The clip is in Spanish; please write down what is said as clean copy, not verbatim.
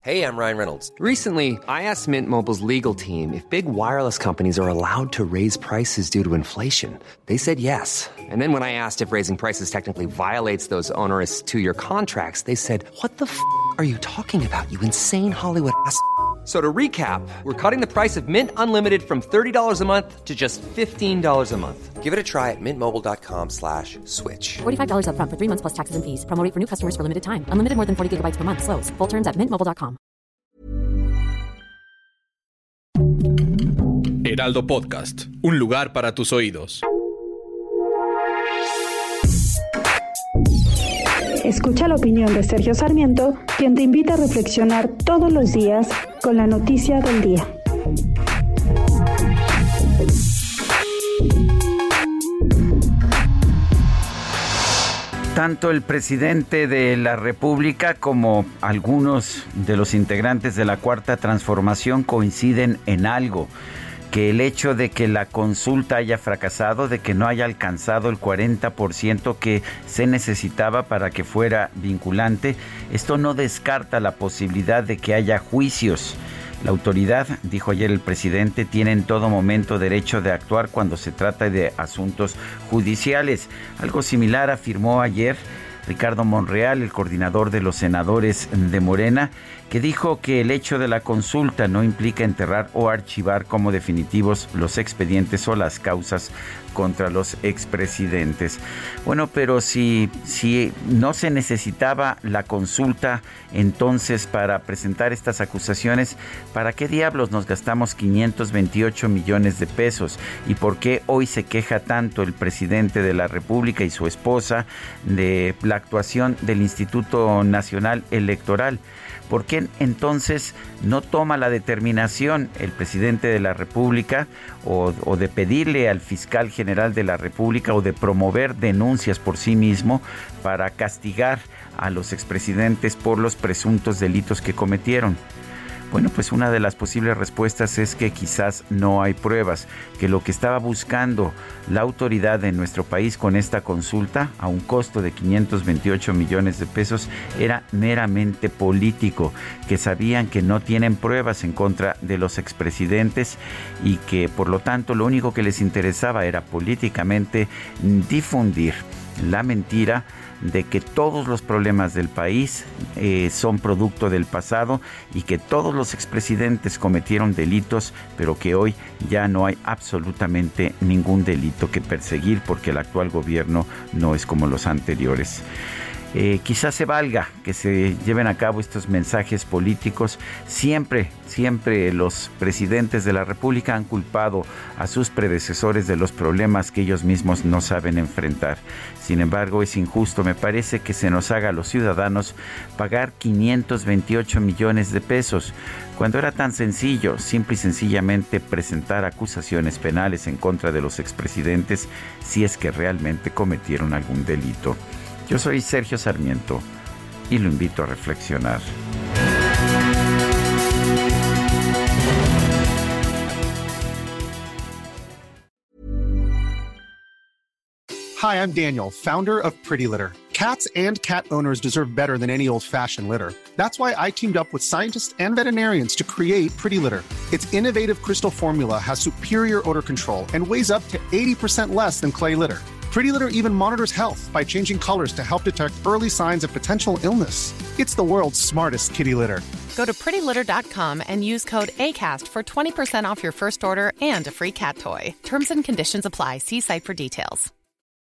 Hey, I'm Ryan Reynolds. Recently, I asked Mint Mobile's legal team if big wireless companies are allowed to raise prices due to inflation. They said yes. And then when I asked if raising prices technically violates those onerous two-year contracts, they said, "What the f*** are you talking about, you insane Hollywood ass?" So to recap, we're cutting the price of Mint Unlimited from $30 a month to just $15 a month. Give it a try at mintmobile.com/switch. $45 up front for 3 months plus taxes and fees. Promo rate for new customers for limited time. Unlimited more than 40 gigabytes per month. Slows full terms at mintmobile.com. Heraldo Podcast, un lugar para tus oídos. Escucha la opinión de Sergio Sarmiento, quien te invita a reflexionar todos los días con la noticia del día. Tanto el presidente de la República como algunos de los integrantes de la Cuarta Transformación coinciden en algo: que el hecho de que la consulta haya fracasado, de que no haya alcanzado el 40% que se necesitaba para que fuera vinculante, esto no descarta la posibilidad de que haya juicios. La autoridad, dijo ayer el presidente, tiene en todo momento derecho de actuar cuando se trata de asuntos judiciales. Algo similar afirmó ayer Ricardo Monreal, el coordinador de los senadores de Morena, que dijo que el hecho de la consulta no implica enterrar o archivar como definitivos los expedientes o las causas contra los expresidentes. Bueno, pero si no se necesitaba la consulta entonces para presentar estas acusaciones, ¿para qué diablos nos gastamos 528 millones de pesos? ¿Y por qué hoy se queja tanto el presidente de la República y su esposa de la actuación del Instituto Nacional Electoral? ¿Por qué entonces no toma la determinación el presidente de la República o de pedirle al fiscal general de la República o de promover denuncias por sí mismo para castigar a los expresidentes por los presuntos delitos que cometieron? Bueno, pues una de las posibles respuestas es que quizás no hay pruebas, que lo que estaba buscando la autoridad en nuestro país con esta consulta, a un costo de 528 millones de pesos, era meramente político, que sabían que no tienen pruebas en contra de los expresidentes y que por lo tanto lo único que les interesaba era políticamente difundir la mentira de que todos los problemas del país son producto del pasado y que todos los expresidentes cometieron delitos, pero que hoy ya no hay absolutamente ningún delito que perseguir porque el actual gobierno no es como los anteriores. Quizás se valga que se lleven a cabo estos mensajes políticos. Siempre los presidentes de la República han culpado a sus predecesores de los problemas que ellos mismos no saben enfrentar. Sin embargo, es injusto, me parece, que se nos haga a los ciudadanos pagar 528 millones de pesos, cuando era tan sencillo, simple y sencillamente presentar acusaciones penales en contra de los expresidentes si es que realmente cometieron algún delito. Yo soy Sergio Sarmiento y lo invito a reflexionar. Hi, I'm Daniel, founder of Pretty Litter. Cats and cat owners deserve better than any old-fashioned litter. That's why I teamed up with scientists and veterinarians to create Pretty Litter. Its innovative crystal formula has superior odor control and weighs up to 80% less than clay litter. Pretty Litter even monitors health by changing colors to help detect early signs of potential illness. It's the world's smartest kitty litter. Go to prettylitter.com and use code ACAST for 20% off your first order and a free cat toy. Terms and conditions apply. See site for details.